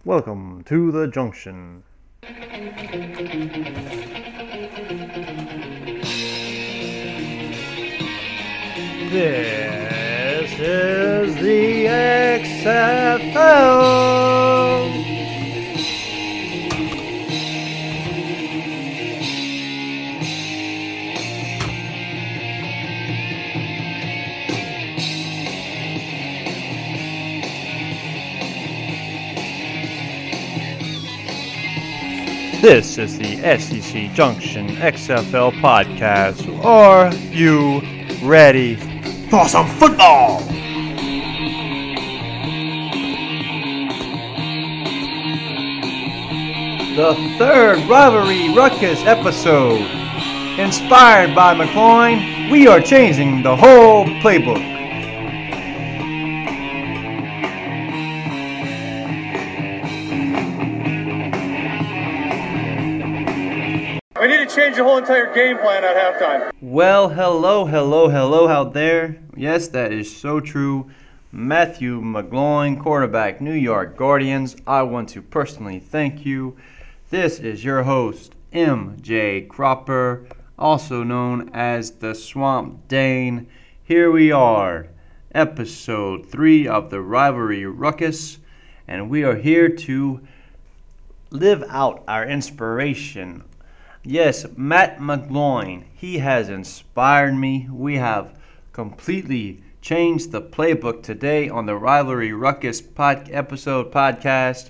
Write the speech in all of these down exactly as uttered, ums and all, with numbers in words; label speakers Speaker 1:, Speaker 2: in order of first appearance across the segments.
Speaker 1: Welcome to the Junction. This is the X F L. This is the S E C Junction X F L podcast. Are you ready for some football? The third Rivalry Ruckus episode. Inspired by McCloin, we are changing the whole playbook.
Speaker 2: We need to change the whole entire game plan at halftime.
Speaker 1: Well, hello, hello, hello out there. Yes, that is so true. Matthew McGloin, quarterback, New York Guardians. I want to personally thank you. This is your host, M J Cropper, also known as the Swamp Dane. Here we are, episode three of the Rivalry Ruckus, and we are here to live out our inspiration. Yes, Matt McGloin, he has inspired me. We have completely changed the playbook today on the Rivalry Ruckus pod- episode podcast.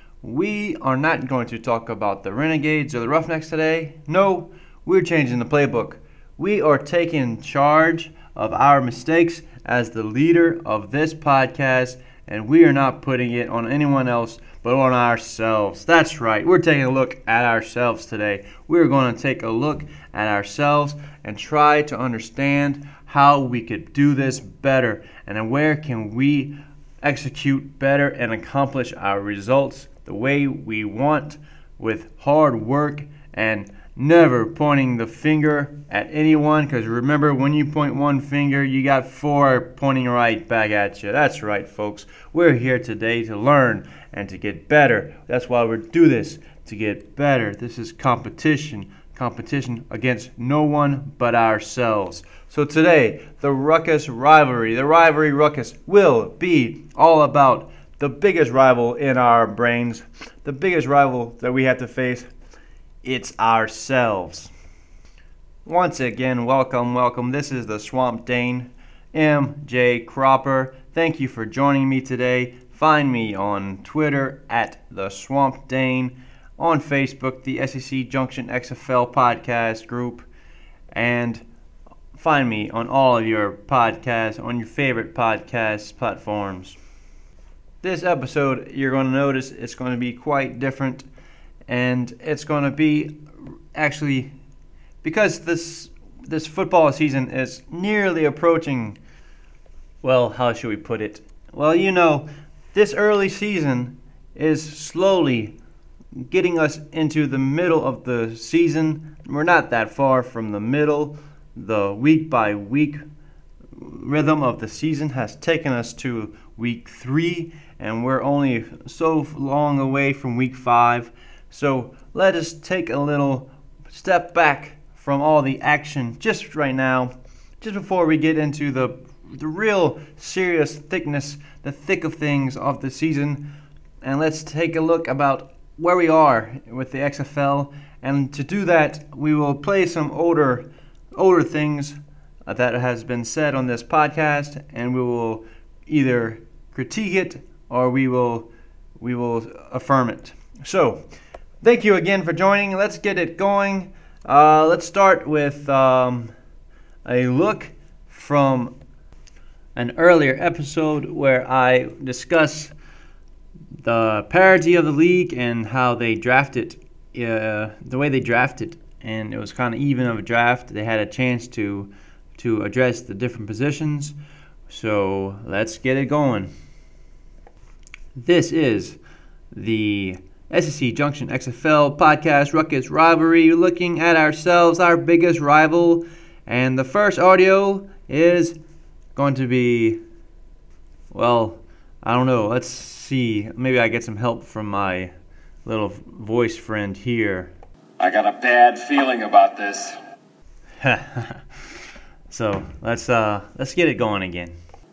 Speaker 1: We are not going to talk about the Renegades or the Roughnecks today. No, we're changing the playbook. We are taking charge of our mistakes as the leader of this podcast, and we are not putting it on anyone else but on ourselves. That's right. We're taking a look at ourselves today. We're going to take a look at ourselves and try to understand how we could do this better and where can we execute better and accomplish our results the way we want with hard work and never pointing the finger at anyone, because remember, when you point one finger, you got four pointing right back at you. That's right, folks. We're here today to learn and to get better. That's why we do this, to get better. This is competition. Competition against no one but ourselves. So today, the Ruckus Rivalry, the Rivalry Ruckus, will be all about the biggest rival in our brains, the biggest rival that we have to face. It's ourselves. Once again, welcome, welcome. This is the Swamp Dane, M J Cropper. Thank you for joining me today. Find me on Twitter at the Swamp Dane, on Facebook, the S E C Junction X F L podcast group, and find me on all of your podcasts, on your favorite podcast platforms. This episode, you're going to notice it's going to be quite different. And it's going to be actually, because this this football season is nearly approaching, well, how should we put it? Well, you know, this early season is slowly getting us into the middle of the season. We're not that far from the middle. The week by week rhythm of the season has taken us to week three, and we're only so long away from week five. So let us take a little step back from all the action just right now, just before we get into the the real serious thickness, the thick of things of the season. And let's take a look about where we are with the X F L. And to do that, we will play some older, older things that has been said on this podcast, and we will either critique it or we will we will affirm it. So, thank you again for joining. Let's get it going. Uh, let's start with um, a look from an earlier episode where I discuss the parity of the league and how they drafted, uh, the way they drafted, and it was kind of even of a draft. They had a chance to to address the different positions. So let's get it going. This is the S E C Junction X F L podcast Ruckus Rivalry, looking at ourselves, our biggest rival. And the first audio is going to be, well, I don't know. Let's see. Maybe I get some help from my little voice friend here.
Speaker 2: I got a bad feeling about this.
Speaker 1: So let's uh let's get it going again.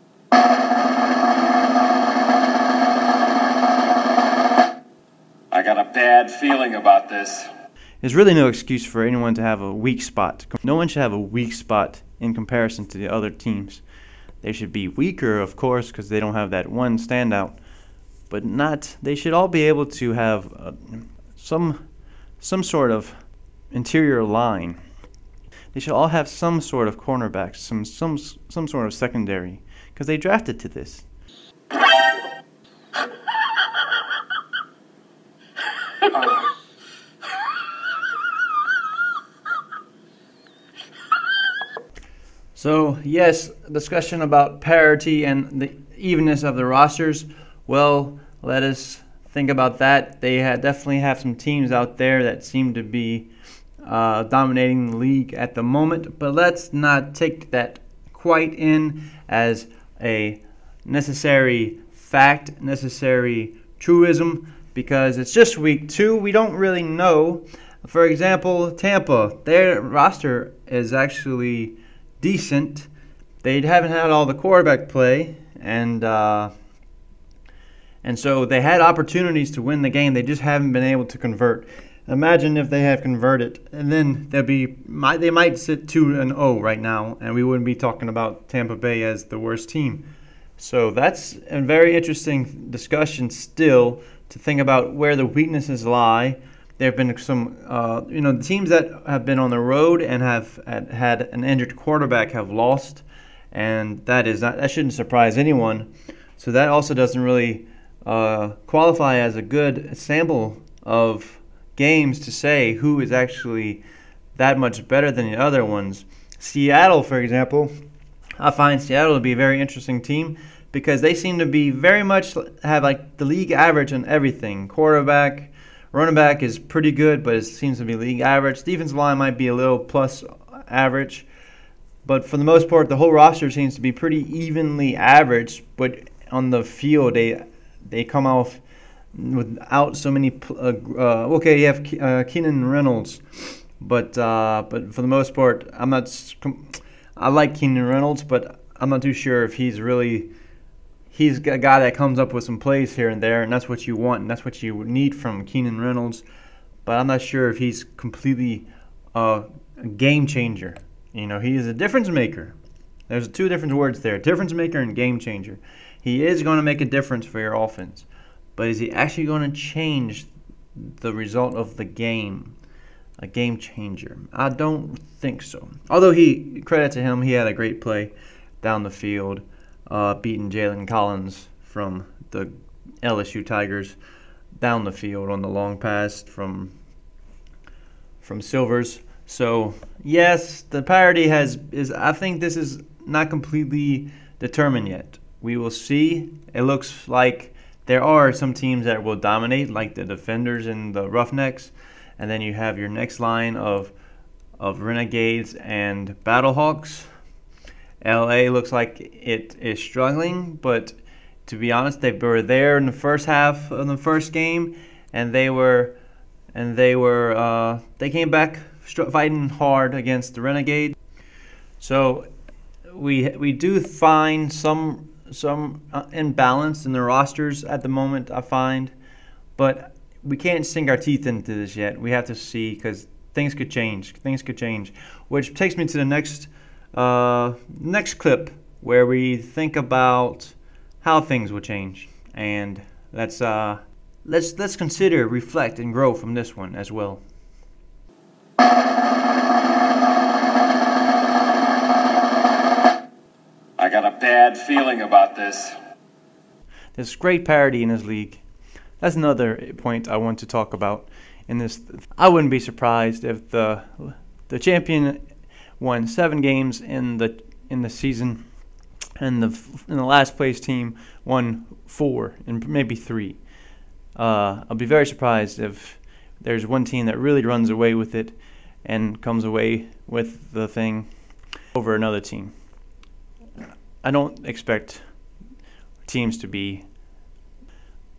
Speaker 2: I got a bad feeling about this.
Speaker 1: There's really no excuse for anyone to have a weak spot. No one should have a weak spot in comparison to the other teams. They should be weaker, of course, because they don't have that one standout. But not. They should all be able to have uh, some some sort of interior line. They should all have some sort of cornerbacks, some some some sort of secondary, because they drafted to this. So, yes, discussion about parity and the evenness of the rosters. Well, let us think about that. They had definitely have some teams out there that seem to be uh, dominating the league at the moment. But let's not take that quite in as a necessary fact, necessary truism, because it's just week two. We don't really know. For example, Tampa, their roster is actually decent. They haven't had all the quarterback play, and uh, and so they had opportunities to win the game. They just haven't been able to convert. Imagine if they had converted, and then they'd be might they might sit two and zero right now, and we wouldn't be talking about Tampa Bay as the worst team. So that's a very interesting discussion still to think about where the weaknesses lie. There have been some, uh, you know, the teams that have been on the road and have had an injured quarterback have lost, and that is not, that shouldn't surprise anyone. So that also doesn't really uh, qualify as a good sample of games to say who is actually that much better than the other ones. Seattle, for example, I find Seattle to be a very interesting team because they seem to be very much have like the league average on everything. Quarterback. Running back is pretty good, but it seems to be league average. Defensive line might be a little plus average. But for the most part, the whole roster seems to be pretty evenly average. But on the field, they they come off without so many. Uh, uh, okay, you have uh, Keenan Reynolds. But uh, but for the most part, I'm not. I like Keenan Reynolds, but I'm not too sure if he's really. He's a guy that comes up with some plays here and there, and that's what you want, and that's what you need from Keenan Reynolds. But I'm not sure if he's completely uh, a game changer. You know, he is a difference maker. There's two different words there, difference maker and game changer. He is going to make a difference for your offense, but is he actually going to change the result of the game? A game changer? I don't think so. Although he, credit to him, he had a great play down the field. Uh, beating Jalen Collins from the L S U Tigers down the field on the long pass from from Silvers. So yes, the parity has is. I think this is not completely determined yet. We will see. It looks like there are some teams that will dominate, like the Defenders and the Roughnecks, and then you have your next line of of Renegades and Battlehawks. L A looks like it is struggling, but to be honest, they were there in the first half of the first game, and they were, and they were, uh, they came back fighting hard against the Renegades. So we we do find some some uh, imbalance in the rosters at the moment, I find, but we can't sink our teeth into this yet. We have to see because things could change. Things could change, which takes me to the next. Uh, next clip where we think about how things will change, and let's uh, let's let's consider, reflect, and grow from this one as well.
Speaker 2: I got a bad feeling about this.
Speaker 1: There's great parity in this league. That's another point I want to talk about in this. I wouldn't be surprised if the the champion won seven games in the in the season, and the in the last place team won four and maybe three. Uh, I'll be very surprised if there's one team that really runs away with it and comes away with the thing over another team. I don't expect teams to be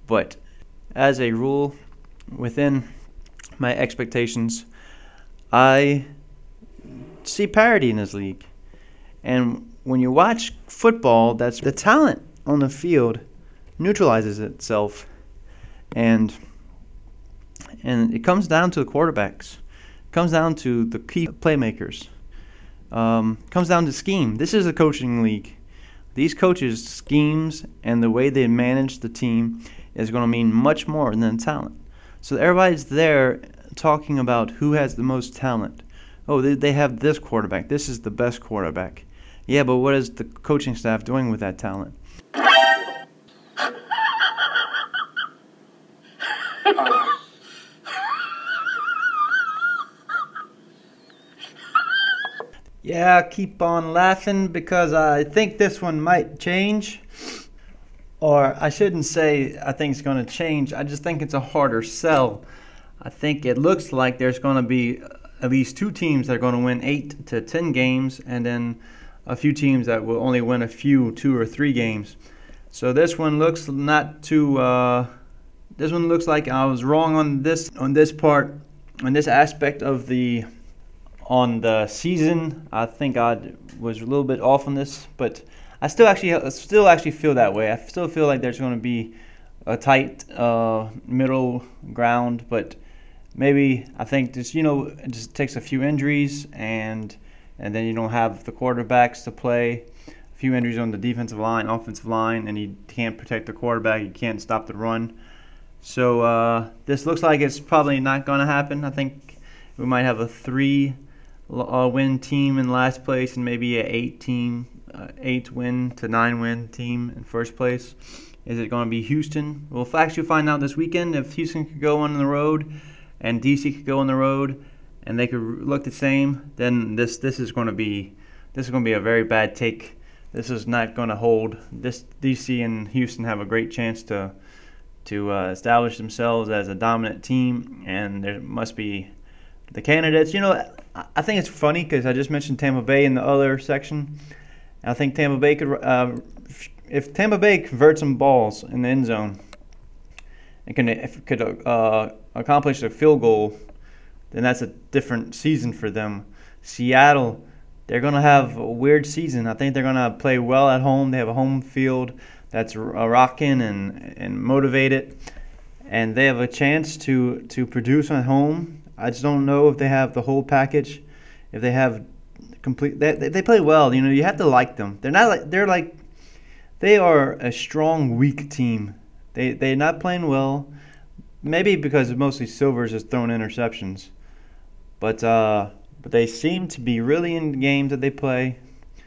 Speaker 1: But as a rule, within my expectations, I see parity in this league. And when you watch football, that's the talent on the field neutralizes itself. And and it comes down to the quarterbacks. It comes down to the key playmakers. Um, it comes down to scheme. This is a coaching league. These coaches' schemes and the way they manage the team is going to mean much more than talent. So everybody's there talking about who has the most talent. Oh, they, they have this quarterback. This is the best quarterback. Yeah, but what is the coaching staff doing with that talent? Yeah, keep on laughing because I think this one might change. Or I shouldn't say I think it's going to change. I just think it's a harder sell. I think it looks like there's going to be at least two teams that are going to win eight to ten games, and then a few teams that will only win a few, two or three games. So this one looks not too. Uh, this one looks like I was wrong on this on this part, on this aspect of the. On the season, I think I was a little bit off on this, but I still actually still actually feel that way. I still feel like there's going to be a tight uh, middle ground, but maybe I think just you know it just takes a few injuries and and then you don't have the quarterbacks to play. A few injuries on the defensive line, offensive line, and you can't protect the quarterback. You can't stop the run. So uh, this looks like it's probably not going to happen. I think we might have a three. Uh, win team in last place and maybe an eight team, uh, eight win to nine win team in first place. Is it going to be Houston? We'll actually find out this weekend if Houston could go on the road and D C could go on the road and they could look the same. Then this this is going to be this is going to be a very bad take. This is not going to hold. This D C and Houston have a great chance to to uh, establish themselves as a dominant team, and there must be the candidates. You know. I think it's funny because I just mentioned Tampa Bay in the other section. I think Tampa Bay could, uh, if Tampa Bay converts some balls in the end zone, and can if it could uh, accomplish a field goal, then that's a different season for them. Seattle, they're gonna have a weird season. I think they're gonna play well at home. They have a home field that's rocking and and motivated, and they have a chance to to produce at home. I just don't know if they have the whole package. If they have complete, they they play well. You know, you have to like them. They're not like they're like they are a strong, weak team. They they're not playing well. Maybe because mostly Silvers has thrown interceptions, but uh, but they seem to be really in the games that they play.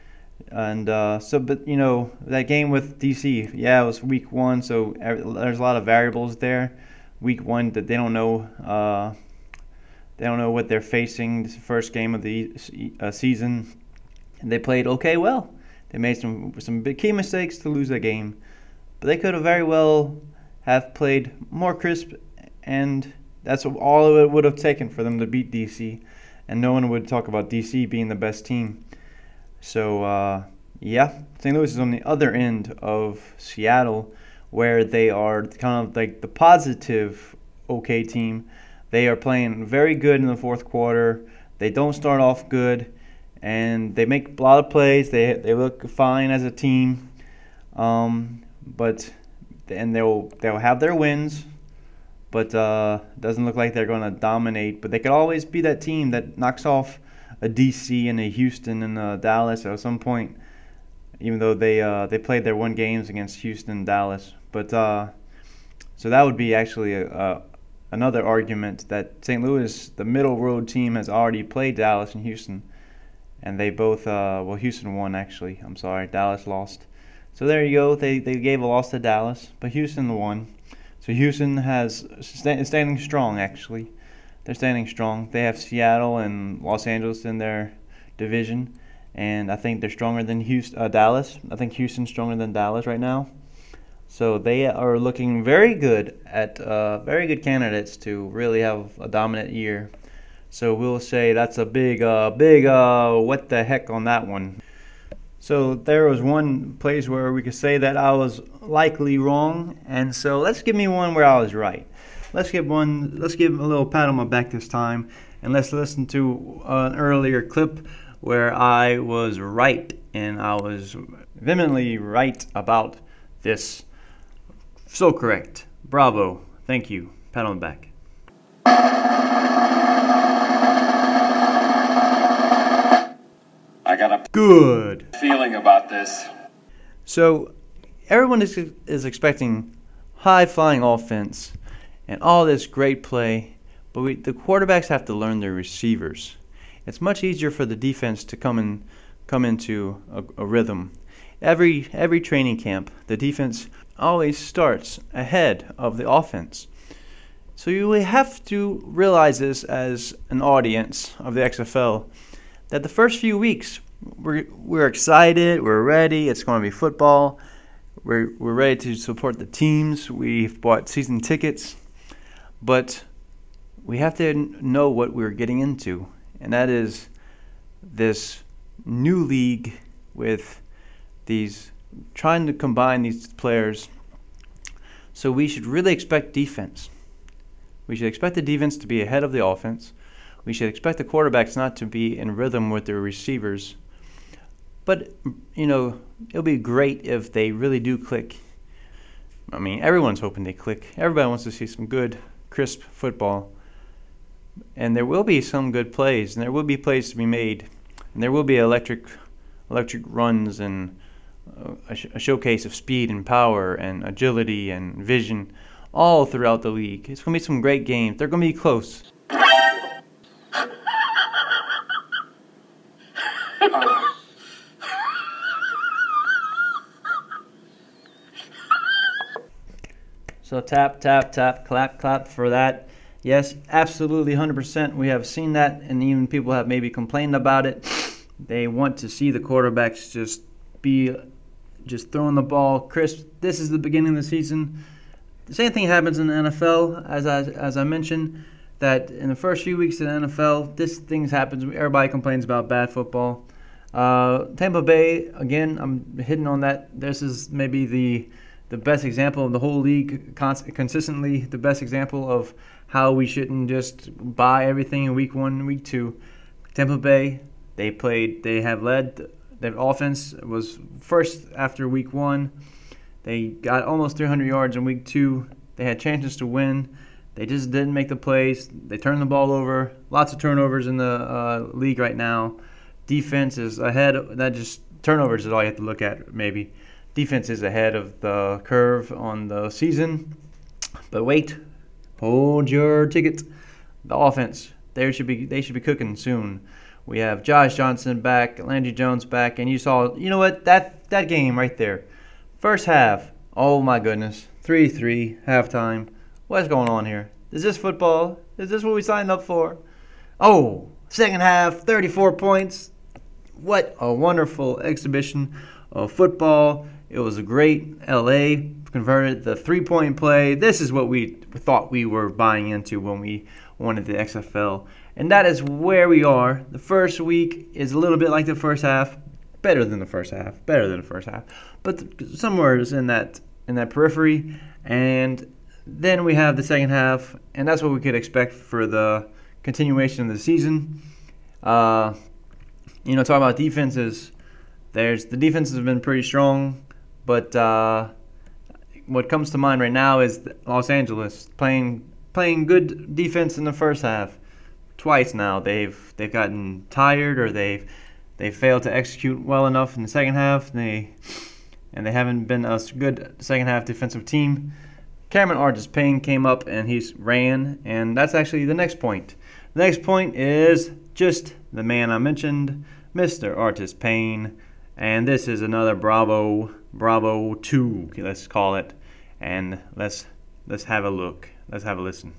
Speaker 1: And uh, so, but you know, that game with D C, yeah, it was week one, so there's a lot of variables there. Week one that they don't know. Uh, They don't know what they're facing. This is the first game of the uh, season, and they played okay well. They made some some big key mistakes to lose that game, but they could have very well have played more crisp, and that's all it would have taken for them to beat D C, and no one would talk about D C being the best team. So uh, yeah, Saint Louis is on the other end of Seattle, where they are kind of like the positive okay team. They are playing very good in the fourth quarter. They don't start off good, and they make a lot of plays. They they look fine as a team, um, but and they'll they'll have their wins, but uh, doesn't look like they're going to dominate. But they could always be that team that knocks off a D C and a Houston and a Dallas at some point, even though they uh, they played their one games against Houston and Dallas. But uh, so that would be actually a, a another argument that Saint Louis, the middle road team, has already played Dallas and Houston, and they both, uh, well, Houston won actually. I'm sorry, Dallas lost. So there you go. They they gave a loss to Dallas, but Houston won. So Houston has st- standing strong actually. They're standing strong. They have Seattle and Los Angeles in their division, and I think they're stronger than Houston, uh, Dallas. I think Houston's stronger than Dallas right now. So they are looking very good at uh, very good candidates to really have a dominant year. So we'll say that's a big, uh, big uh, what the heck on that one. So there was one place where we could say that I was likely wrong, and so let's give me one where I was right. Let's give one. Let's give a little pat on my back this time, and let's listen to an earlier clip where I was right, and I was vehemently right about this. So correct. Bravo. Thank you. Pat on the back.
Speaker 2: I got a
Speaker 1: Good
Speaker 2: feeling about this.
Speaker 1: So everyone is is expecting high-flying offense and all this great play, but we, the quarterbacks have to learn their receivers. It's much easier for the defense to come in, come into a, a rhythm. Every every training camp, the defense always starts ahead of the offense. So you have to realize this as an audience of the X F L, that the first few weeks we're we're excited, we're ready. It's going to be football. We're we're ready to support the teams. We've bought season tickets, but we have to know what we're getting into, and that is this new league with these trying to combine these players. So we should really expect defense. We should expect the defense to be ahead of the offense. We should expect the quarterbacks not to be in rhythm with their receivers. But, you know, it'll be great if they really do click. I mean, everyone's hoping they click. Everybody wants to see some good, crisp football. And there will be some good plays, and there will be plays to be made. And there will be electric electric runs and a, sh- a showcase of speed and power and agility and vision all throughout the league. It's going to be some great games. They're going to be close. So tap, tap, tap, clap, clap for that. Yes, absolutely, one hundred percent. We have seen that, and even people have maybe complained about it. They want to see the quarterbacks just be just throwing the ball crisp. This is the beginning of the season. The same thing happens in the N F L, as I, as I mentioned, that in the first few weeks of the N F L, this things happens. Everybody complains about bad football. Uh, Tampa Bay, again, I'm hitting on that. This is maybe the the best example of the whole league, cons- consistently the best example of how we shouldn't just buy everything in week one and week two. Tampa Bay, they played, they have led, their offense was first after week one. They got almost three hundred yards in week two. They had chances to win. They just didn't make the plays. They turned the ball over. Lots of turnovers in the uh, league right now. Defense is ahead. Of, that just turnovers is all you have to look at, maybe. Defense is ahead of the curve on the season. But wait, hold your ticket. The offense, they should be they should be cooking soon. We have Josh Johnson back, Landry Jones back, and you saw, you know what, that that game right there. First half, oh my goodness, three three, halftime. What's going on here? Is this football? Is this what we signed up for? Oh, second half, thirty-four points. What a wonderful exhibition of football. It was a great. L A converted the three-point play. This is what we thought we were buying into when we wanted the X F L. And that is where we are. The first week is a little bit like the first half. Better than the first half. Better than the first half. But somewhere is in that in that periphery. And then we have the second half. And that's what we could expect for the continuation of the season. Uh, you know, talking about defenses, there's the defenses have been pretty strong. But uh, what comes to mind right now is Los Angeles playing playing good defense in the first half. Twice now they've they've gotten tired or they've they failed to execute well enough in the second half. They and they haven't been a good second half defensive team. Cameron Artis-Payne came up and he ran, and that's actually the next point. The next point is just the man I mentioned, Mister Artis-Payne, and this is another Bravo Bravo two, let's call it, and let's let's have a look. Let's have a listen.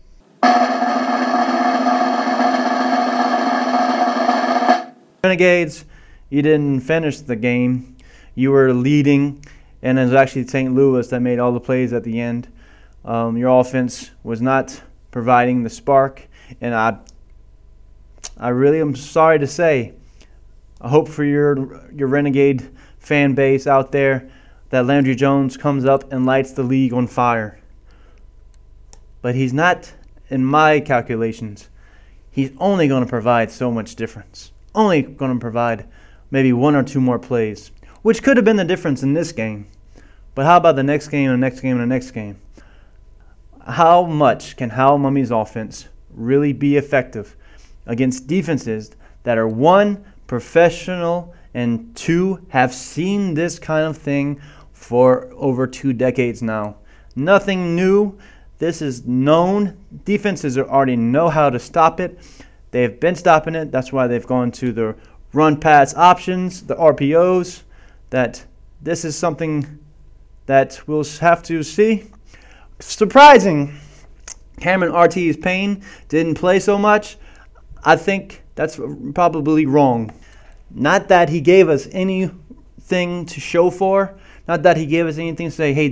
Speaker 1: Renegades, you didn't finish the game. You were leading, and it was actually Saint Louis that made all the plays at the end. Um, your offense was not providing the spark, and I, I really am sorry to say, I hope for your your Renegade fan base out there that Landry Jones comes up and lights the league on fire. But he's not, in my calculations, he's only going to provide so much difference. Only going to provide maybe one or two more plays, which could have been the difference in this game. But how about the next game and the next game and the next game? How much can Hal Mumme's offense really be effective against defenses that are, one, professional, and two, have seen this kind of thing for over two decades now? Nothing new. This is known. Defenses already know how to stop it. They've been stopping it. That's why they've gone to the run-pass options, the R P Os. That this is something that we'll have to see. Surprising. Cameron Ortiz Payne didn't play so much. I think that's probably wrong. Not that he gave us anything to show for. Not that he gave us anything to say, hey.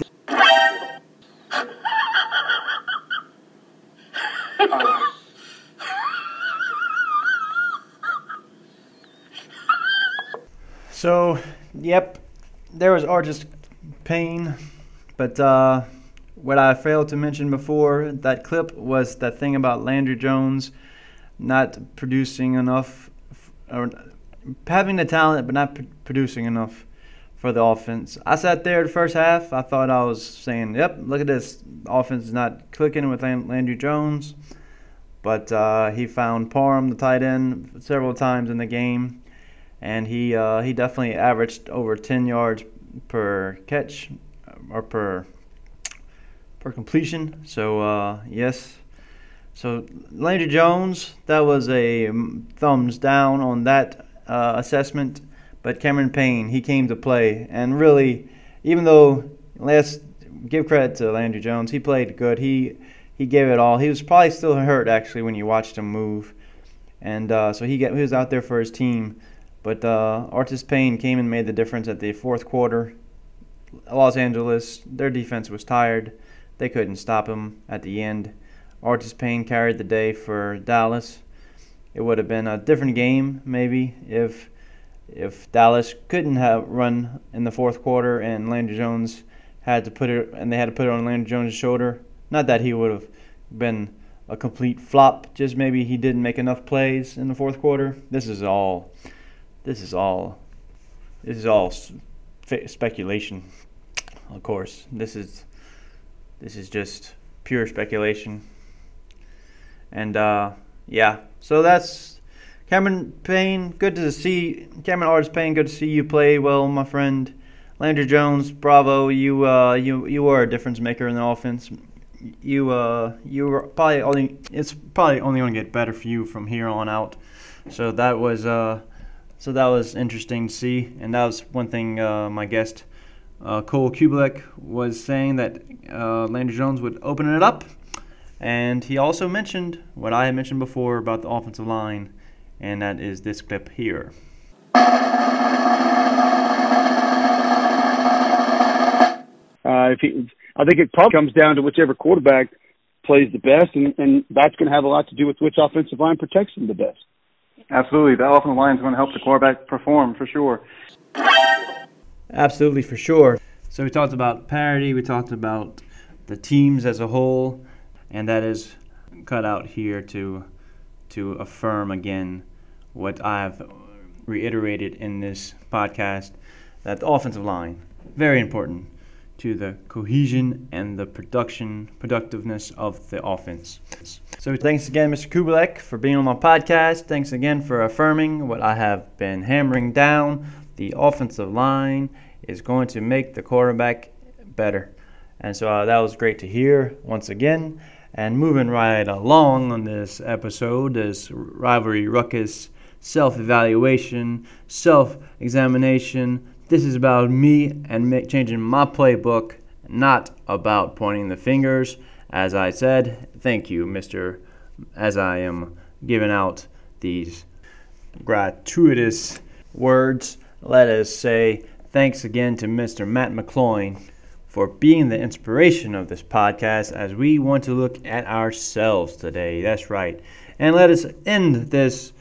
Speaker 1: So, yep, there was Ortiz Payne, but uh, what I failed to mention before that clip was that thing about Landry Jones not producing enough, or having the talent but not p- producing enough for the offense. I sat there the first half. I thought I was saying, yep, look at this. The offense is not clicking with Landry Jones. But uh, he found Parham, the tight end, several times in the game. And he uh, he definitely averaged over ten yards per catch or per per completion. So, uh, yes. So, Landry Jones, that was a thumbs down on that uh, assessment. But Cameron Payne, he came to play. And really, even though, let's give credit to Landry Jones, he played good. He he gave it all. He was probably still hurt, actually, when you watched him move. And uh, so he, get, he was out there for his team. But uh, Ortiz Payne came and made the difference at the fourth quarter. Los Angeles, their defense was tired. They couldn't stop him at the end. Ortiz Payne carried the day for Dallas. It would have been a different game, maybe, if if Dallas couldn't have run in the fourth quarter and Landry Jones had to put it, and they had to put it on Landry Jones' shoulder. Not that he would have been a complete flop, just maybe he didn't make enough plays in the fourth quarter. This is all. This is all. This is all speculation. Of course, this is. This is just pure speculation. And uh, yeah, so that's Cameron Payne. Good to see Cameron Ortiz Payne. Good to see you play well, my friend. Landry Jones, bravo. You uh, you you are a difference maker in the offense. You uh you were probably only. It's probably only going to get better for you from here on out. So that was uh. So that was interesting to see, and that was one thing uh, my guest uh, Cole Kubelek was saying, that uh, Landry Jones would open it up, and he also mentioned what I had mentioned before about the offensive line, and that is this clip here.
Speaker 3: Uh, if he, I think it probably comes down to whichever quarterback plays the best, and, and that's going to have a lot to do with which offensive line protects him the best.
Speaker 2: Absolutely. That offensive line is going to help the quarterback perform for sure.
Speaker 1: Absolutely, for sure. So we talked about parity. We talked about the teams as a whole. And that is cut out here to to affirm again what I've reiterated in this podcast, that the offensive line, very important to the cohesion and the production, productiveness of the offense. So thanks again, Mister Kubelek, for being on my podcast. Thanks again for affirming what I have been hammering down. The offensive line is going to make the quarterback better. And so uh, that was great to hear once again. And moving right along on this episode, this rivalry ruckus, self-evaluation, self-examination. This is about me and make, changing my playbook, not about pointing the fingers. As I said, thank you, Mister As I am giving out these gratuitous words, let us say thanks again to Mister Matt McCloin for being the inspiration of this podcast, as we want to look at ourselves today. That's right. And let us end this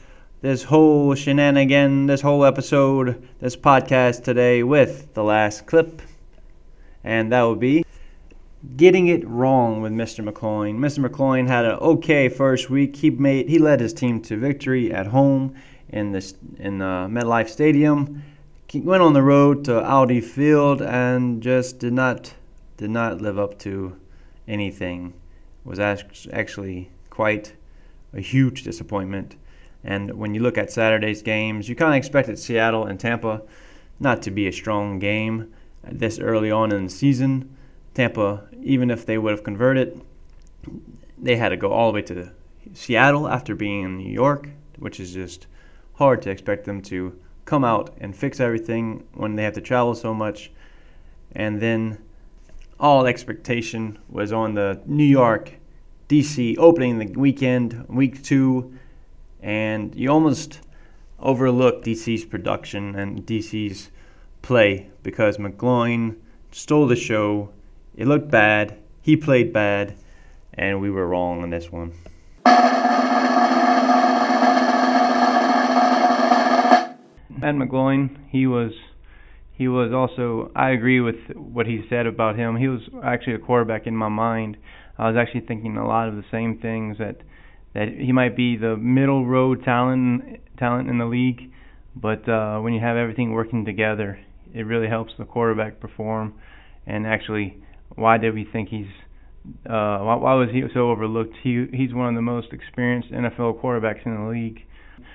Speaker 1: this whole shenanigan, this whole episode, this podcast today with the last clip. And that would be getting it wrong with Mister McCloin. Mister McCloin had an okay first week. He made he led his team to victory at home in this in uh, MetLife Stadium. He went on the road to Audi Field and just did not did not live up to anything. It was actually quite a huge disappointment. And when you look at Saturday's games, you kind of expected Seattle and Tampa not to be a strong game this early on in the season. Tampa, even if they would have converted, they had to go all the way to Seattle after being in New York, which is just hard to expect them to come out and fix everything when they have to travel so much. And then all expectation was on the New York D C opening the weekend, week two, and you almost overlook D C's production and D C's play because McGloin stole the show. It looked bad. He played bad, and we were wrong on this one. Matt McGloin, he was he was also, I agree with what he said about him. He was actually a quarterback in my mind. I was actually thinking a lot of the same things, that that he might be the middle road talent talent in the league, but uh, when you have everything working together, it really helps the quarterback perform. And actually, why did we think he's uh, why, why was he so overlooked? He he's one of the most experienced N F L quarterbacks in the league.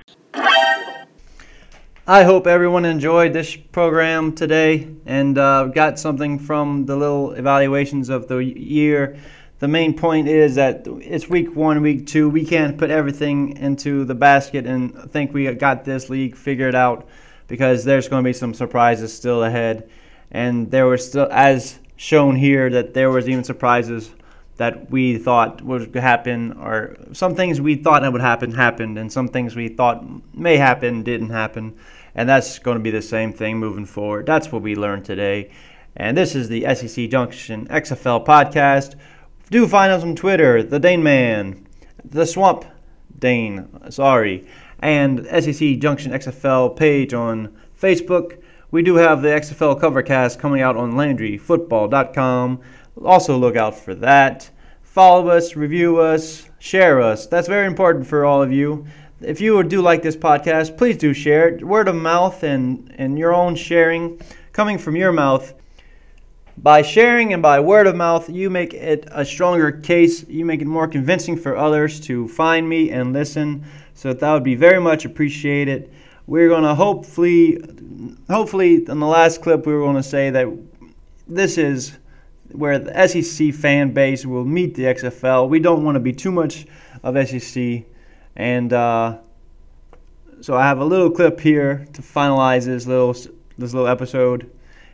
Speaker 1: I hope everyone enjoyed this program today and uh, got something from the little evaluations of the year. The main point is that it's week one, week two. We can't put everything into the basket and think we got this league figured out, because there's going to be some surprises still ahead. And there were still, as shown here, that there was even surprises that we thought would happen, or some things we thought that would happen happened, and some things we thought may happen didn't happen. And that's going to be the same thing moving forward. That's what we learned today. And this is the S E C Junction X F L podcast. Do find us on Twitter, the Dane Man, the Swamp Dane, sorry, and S E C Junction X F L page on Facebook. We do have the X F L Covercast coming out on Landry Football dot com. Also look out for that. Follow us, review us, share us. That's very important for all of you. If you do like this podcast, please do share it. Word of mouth and, and your own sharing coming from your mouth. By sharing and by word of mouth, you make it a stronger case. You make it more convincing for others to find me and listen. So that would be very much appreciated. We're going to hopefully, hopefully in the last clip, we were going to say that this is where the S E C fan base will meet the X F L. We don't want to be too much of S E C. And uh, so I have a little clip here to finalize this little this little episode.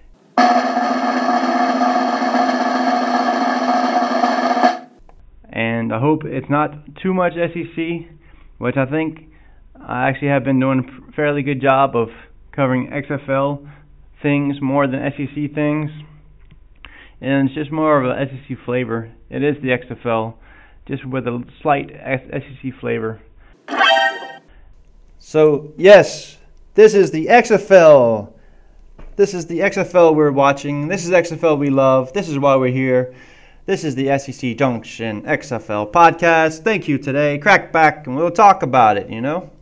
Speaker 1: And I hope it's not too much S E C, which I think I actually have been doing a fairly good job of covering X F L things more than S E C things. And it's just more of an S E C flavor. It is the X F L, just with a slight S E C flavor. So, yes, this is the X F L. This is the X F L we're watching. This is X F L we love. This is why we're here. This is the S E C Junction X F L podcast. Thank you today. Crack back and we'll talk about it, you know.